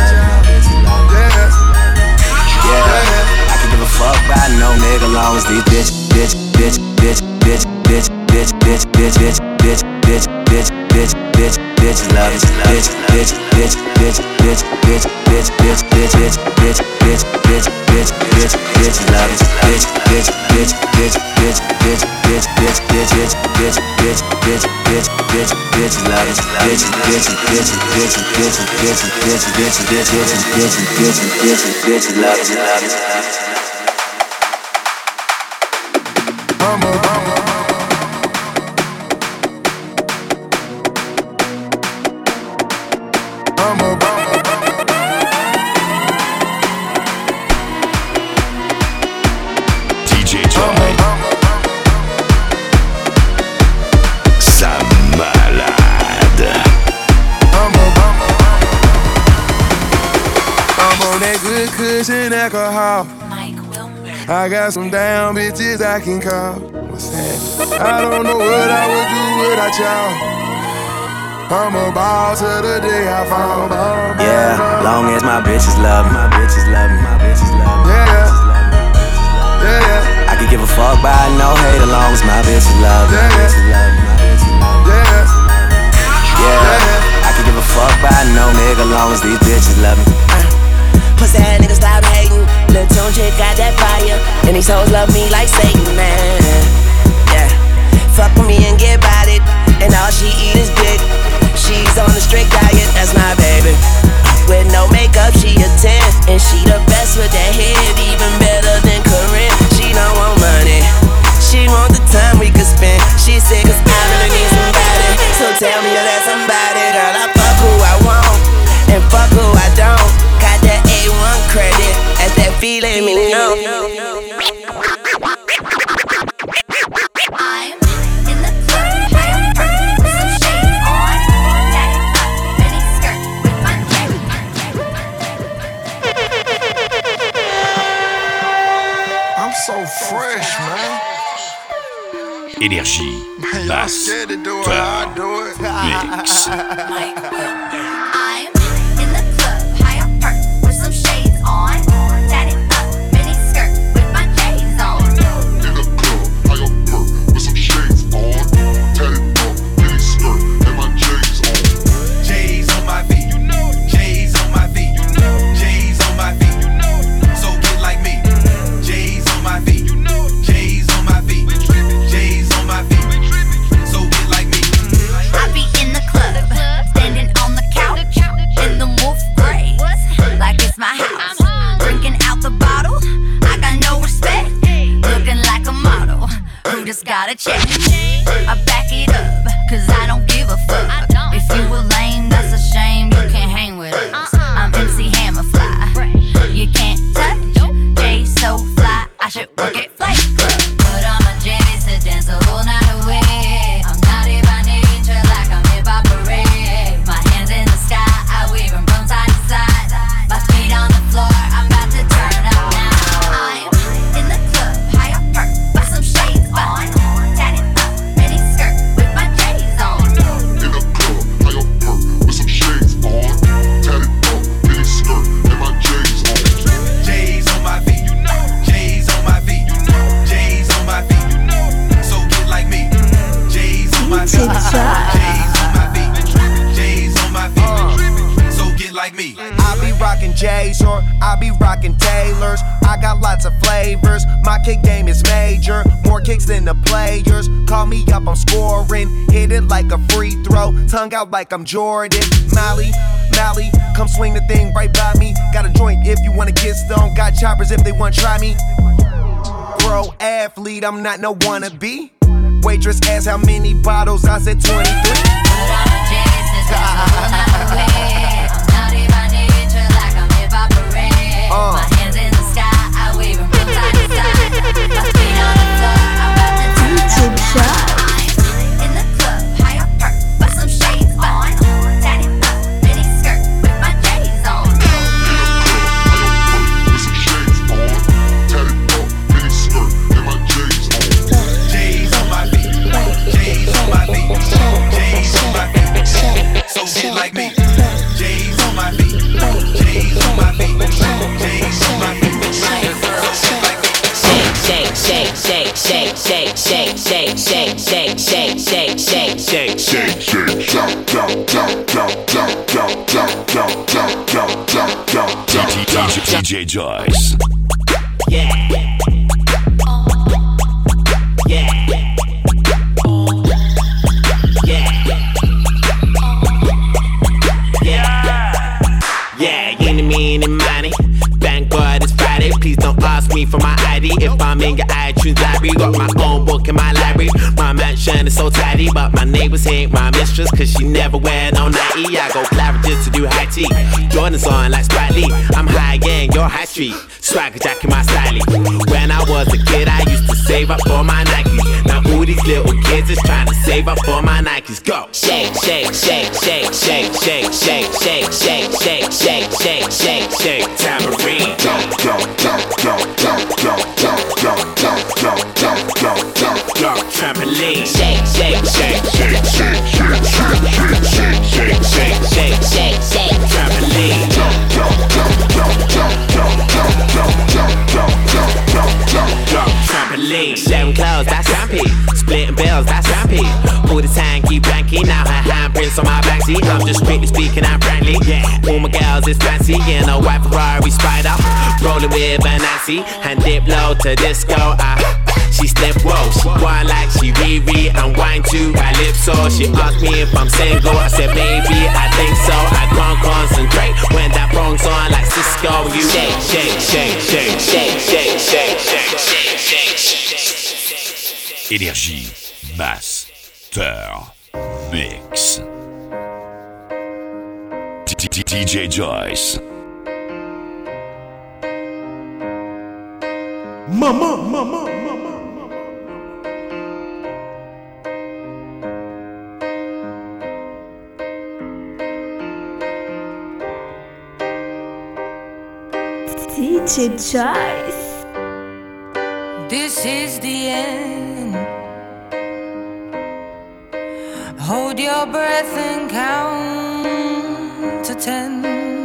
U: Yeah, I can give a fuck by no nigga long as these bitch, bitch, bitch, bitch, bitch, bitch, bitch, bitch, bitch, bitch, bitch, bitch, bitch, bitch, bitch, bitch, love it. Bitch, bitch, bitch, bitch, bitch, bitch, bitch, bitch, bitch, bitch, bitch, bitch, bitch, bitch, bitch, bitch, love it. Bitch, bitch, bitch, bitch, bitch, bitch, bitch, bitch, bitch, bitch, bitch, bitch, bitch, bitch, bitch, bitch, love it. Bitch, bitch, bitch, bitch, bitch, bitch, bitch, bitch, bitch, bitch, bitch, bitch, bitch, bitch, love it, love it.
D: I'm a cushion alcohol. I got some damn bitches I can call. What's that? I don't know what I would do without y'all. I'm a ball till the day I fall.
U: Yeah, long as my bitches love me, my bitches love me, my bitches love me.
D: Yeah, yeah, yeah.
U: I could give a fuck by no hate, as long as my bitches love me, my bitches love me, my bitches love me. Yeah, yeah. I could give a fuck by no nigga, long as these bitches love me.
C: Pussy ass niggas stop hating. Lil' Tune chick got that fire, and these hoes love me like Satan, man. Yeah, fuck with me and get about it, and all she eat is dick. She's on a strict diet, that's my baby. With no makeup, she a ten, and she the best with that head, even better than Corinne. She don't want money, she want the time we could spend. She said, cause I really need somebody, so tell me you're that somebody. Girl, I fuck who I want, and fuck who I don't. Got that A one credit, as that feeling me know.
R: I'm in the club, high on perk, with some shades on. Daddy up, mini skirt, with my dress.
D: I'm so fresh, man.
B: Énergie, basse, turn, mix.
R: I'm in the club, high on perk, with some shades on. Daddy up, mini skirt, with my J's on.
I: In the club, high up perk, with some shades on. Tatted up, mini skirt, and my J's on.
J: J's on my feet, you know. J's on my feet, you know. J's on my feet, you know. So get like me. J's on my feet, you know. J's on my feet. J's on my feet. So get like me.
R: I be in the club, standing on the couch, in the wolf gray, like it's my house. Drinking out the bottle, I got no respect. Looking like a model, who just got a check. I back it up, cause I don't give a fuck. If you a lame, that's a shame, you can't hang with us. I'm M C Hammer Fly, you can't touch. Jay so fly, I should work at Flight Club. Put on my J's to dance the whole night away. I'm naughty by nature, like I'm hip hop parade. My hands in the sky, I wave them from side to side. My feet on the floor, I'm about to turn up now. I'm in the club, high up perk, with some shades on. Tatted up, mini skirt, with my J's on.
I: In the club, high up perk, with some shades on. Tatted up, mini skirt, and my J's on.
J: J's on my feet, you know. J's on my feet, you know. J's on my feet, you know. So get like me. J's on my feet. J's on my feet. J's on my feet. So get like me. I be rockin' J's or I be rockin' Taylors. I got lots of flavors. My kick game is major. More kicks than the players. Call me up, I'm scoring. Hit it like a free throw. Tongue out like I'm Jordan. Molly, Molly, come swing the thing right by me. Got a joint if you wanna get stoned. Got choppers if they wanna try me. Pro athlete, I'm not no wannabe. Waitress asked how many bottles, I said twenty-three.
R: Uh. My hands in the sky, I wave them from side to side. My feet on the floor, I'm about to turn up now. I'm in the club, high up perk, with some shades on. Tatted up, mini skirt, with my J's on.
I: With some shades on. Tatted up, mini skirt, and my J's on.
J: J's on my feet. J's on my feet. J's on my feet. So get like me. J's on my feet. J's on my feet. J's on my feet.
C: Shake, shake, shake, shake, shake, shake, shake, shake, shake, shake, shake, shake, shake,
I: Shake, shake, shout, shout, shout, shout, shout, shout, shout, shout, shout, shout, shout, shout, shout, shout.
B: D J Joyce.
C: Yeah. Yeah. Yeah. Yeah, any, meeny, money. Thank God it's Friday. Please don't ask me for my I D. If I'm in your iTunes library, got my own book in my library. My mansion is so tidy, but my neighbors hate my mistress, cause she never wear no nightie. I go Claridge's to do high tea. Jordan's on like Spike Lee. I'm high gang, you're high street. Swagger jack in my styling. When I was a kid, I used to save up for my Nikes. Now all
S: these little kids that's trying to save up for my Nikes. Go! Shake, shake, shake, shake, shake, shake, shake, shake, shake, shake, shake, shake, shake, shake, tambourine. Go, go, go, go, go, go, go, go, go, go, go, go, go, go, trampoline. Shake, shake, shake, shake, shake, shake, shake, shake, shake, shake, shake, shake, shake, trampoline. Go, go, go, go, go, go, go, go, go, go, go, go, go, go, trampoline. Sharing clothes, that's rampy. Splitting bills, that's rampy. All the time, keep blanky. Now her handprints on my backseat. I'm just strictly speaking, I'm frankly. Yeah, all my girls is fancy. In a white Ferrari Spider, rolling with a Nancy, and dip low to disco. Ah, she slip, whoa. She whine like she Riri and whine to calypso. She asked me if I'm single. I said, baby, I think so. I can't concentrate when that phone's on like Cisco. You shake, shake, shake, shake, shake, shake, shake, shake, shake, shake.
B: Énergie, Master Mix. D J Joyce.
F: Mama, mama, mama.
K: D J Joyce.
O: This is the end. Hold your breath and count to ten.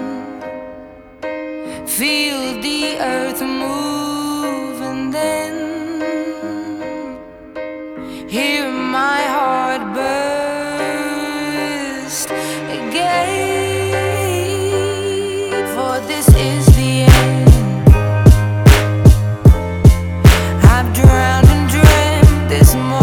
O: Feel the earth move and then hear my heart burst again. For this is the end. I've drowned and dreamt this moment.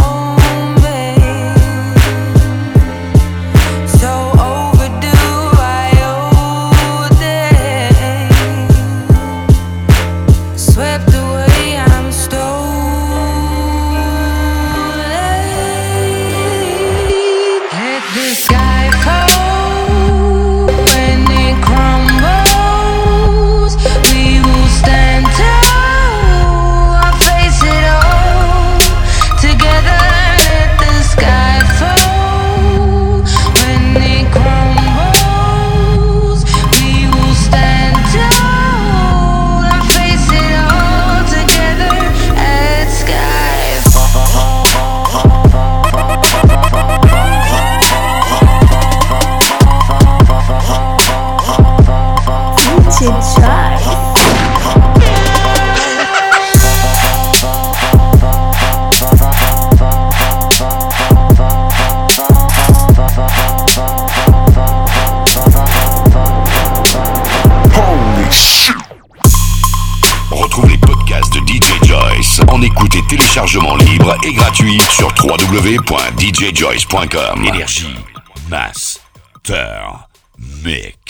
B: Téléchargement libre et gratuit sur w w w point d j joyce point com. Énergie Master Mix.